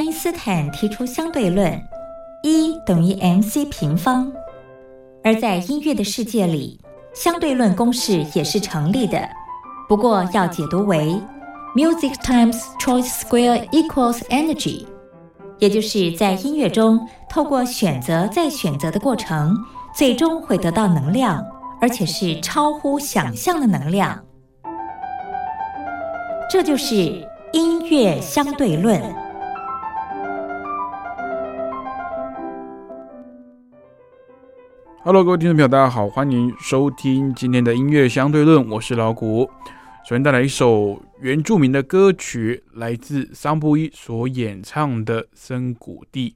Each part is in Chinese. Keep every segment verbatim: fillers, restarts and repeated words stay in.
因斯坦提出相对论，E等于 mc 平方。而在音乐的世界里，相对论公式也是成立的，不过要解读为 music times choice square equals energy， 也就是在音乐中透过选择再选择的过程，最终会得到能量，而且是超乎想象的能量。这就是音乐相对论。 Hello， 各位听众朋友，大家好，欢迎收听今天的音乐相对论，我是老谷。首先带来一首原住民的歌曲，来自桑布伊所演唱的《森谷地》。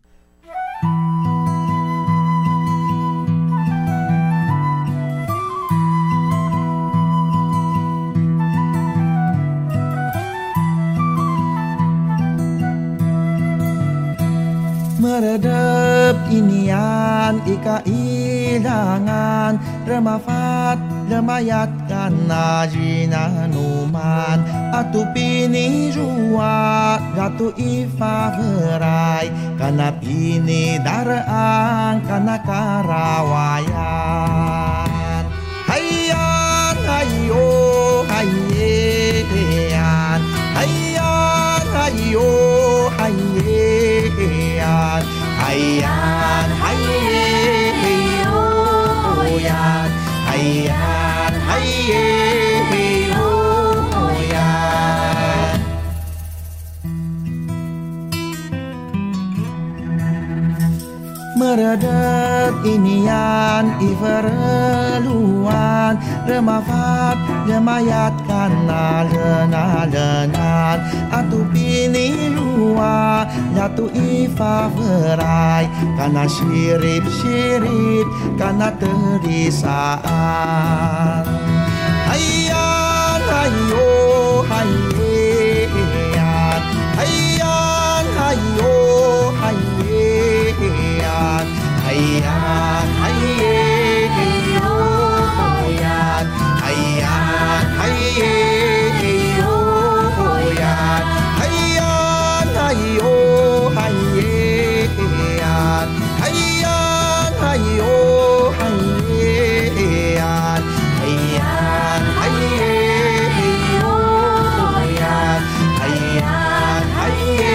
Meredep inian ika ilangan remafat lemayatkan najina numan atu pini jua gatu ifa verai kana pini darang kana karawayan hayyan hayyo hayyan hayyan hayyo hayyan hayyan hayyan hayyan hayyan meredet inian ivereluan remafat lemayatkan nalena-lenan atu pini lua jatuh ifa verai kana sirip-sirip kana terisaan hayyan hayyo hayyan hayyan hayyo hayyan hayyan hayyo hayyan hayyan hayyo hayyan hayyan hayyo hayyan hayyan hayyo hayyan hayyan hayyo hayyan hayyan hayyo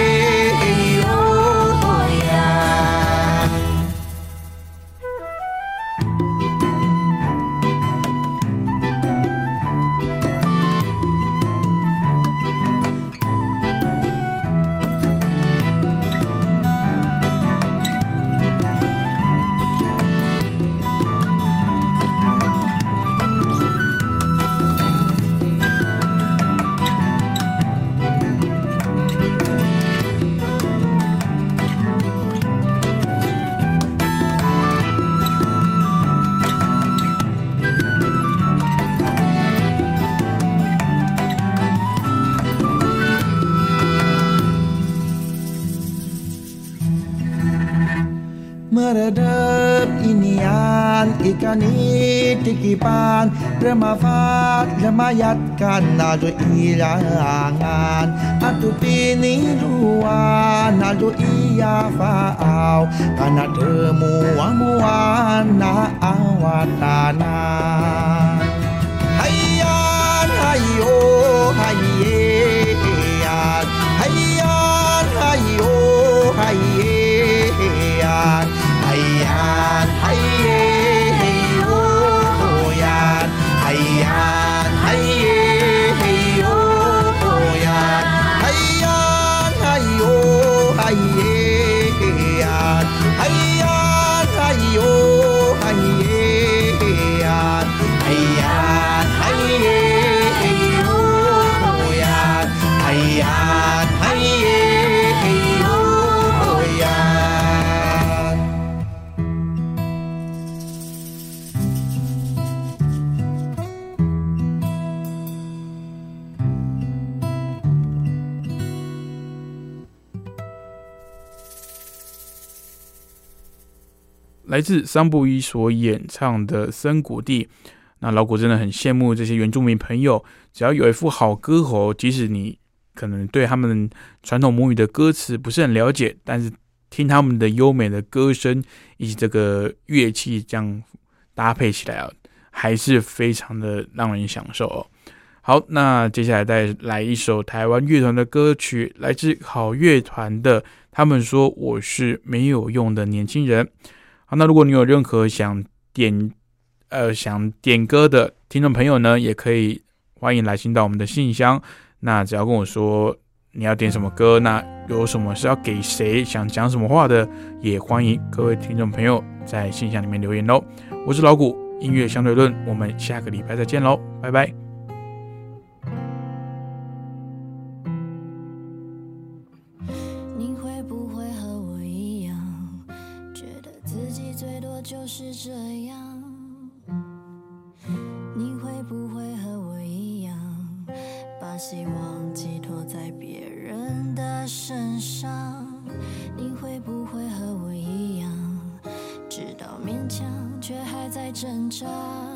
meredep inian ikan itikipan remafat lemayatkan nado ilangan atu pini luan nado iya faau kana temuan-muan na awatanan hayyan hayyo hayyan hayyan hayyo hayyan hayyan hayyo yan hayyan hayyo yan hayyan hayyo hayyan hayyan hayyo hayyan hayyan hayyo yan hayyan hayyo 来自桑布伊所演唱的《森谷地》，那老谷真的很羡慕这些原住民朋友，只要有一副好歌喉，即使你可能对他们传统母语的歌词不是很了解，但是听他们的优美的歌声以及这个乐器这样搭配起来啊，还是非常的让人享受哦。好，那接下来再来一首台湾乐团的歌曲，来自好乐团的，他们说我是没有用的年轻人。好，那如果你有任何想点呃想点歌的听众朋友呢，也可以欢迎来信到我们的信箱。那只要跟我说你要点什么歌，那有什么是要给谁，想讲什么话的，也欢迎各位听众朋友在信箱里面留言咯。我是老谷，音乐相对论，我们下个礼拜再见咯，拜拜。 你会不会和我一样，觉得自己最多就是这样？你会不会和我一样，把希望寄托在别人的身上？你会不会和我一样，知道勉强却还在挣扎？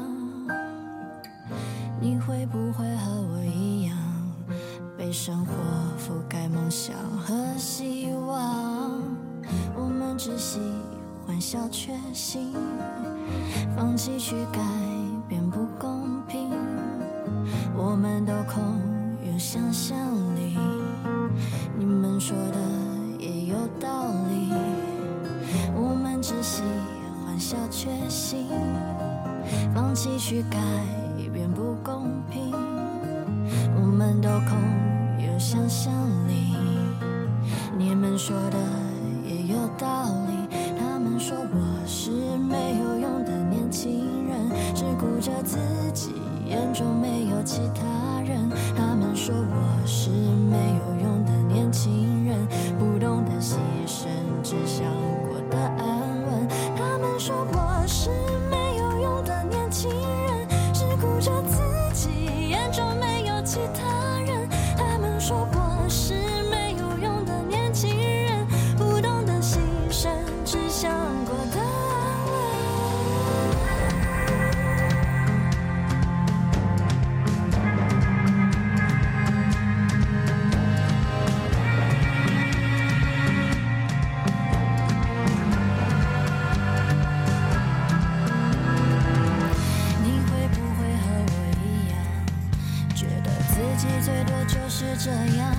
你会不会和我一样，被生活覆盖梦想和希望？我们只喜欢小确幸，放弃去改变不公平。我们都空有想象力，你们说的也有道理。我们只喜欢小确幸，放弃去改变不公平。我们都空有想象力，你们说的也有道理。他们说我是没有用的年轻人，只顾着自己，眼中没有其他人。他们说我是没有用的年轻人，不懂得牺牲，只想过得安稳。他们说我是没有用的年轻人，只顾着自己，眼中没有其他人。他们说我是没有用的年轻人，不懂得牺牲，只想过得安稳。你会不会和我一样，觉得自己最多就是这样？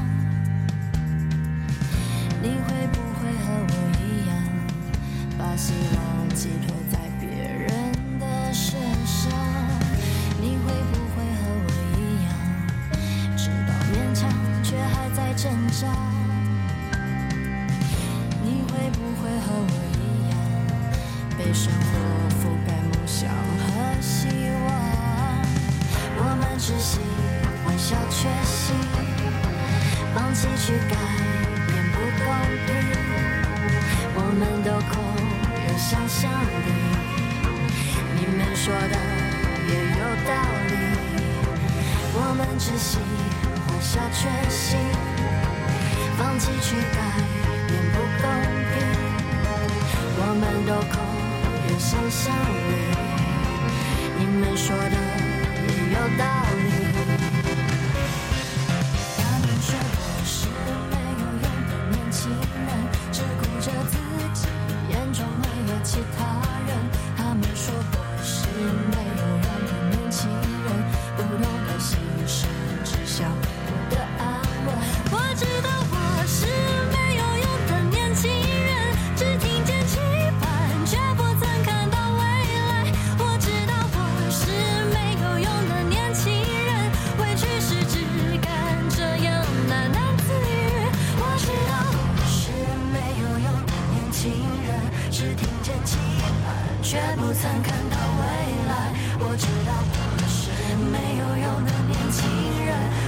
你会不会和我一样，把希望寄托在别人的身上？你会不会和我一样，知道勉强却还在挣扎？你会不会和我一样，被生活覆盖梦想和希望？我们只喜欢小确幸，放弃去改变不公平。我们都空有想象力，你们说的也有道理。我们只喜欢小确幸，放弃去改变不公平。我们都空有想象力，你们说的也有道理。他们说我是没有用的年轻人，只顾着自己，眼中没有其他人。他们说我是没有用的年轻人，不懂得牺牲，只想过得安稳。我知道我是没有用的年轻人，只听见期盼，却不曾看到未来。我知道我是没有用的年轻人，委屈时只敢这样喃喃自语。我知道我是没有用的年轻人，只听见期盼，却不曾看到未来。我知道我是没有用的年轻人，